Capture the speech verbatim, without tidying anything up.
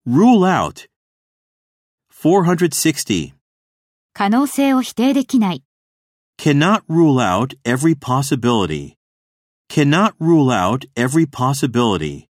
Rule out. four hundred sixty. 可能性を否定できない。 Cannot rule out every possibility. Cannot rule out every possibility.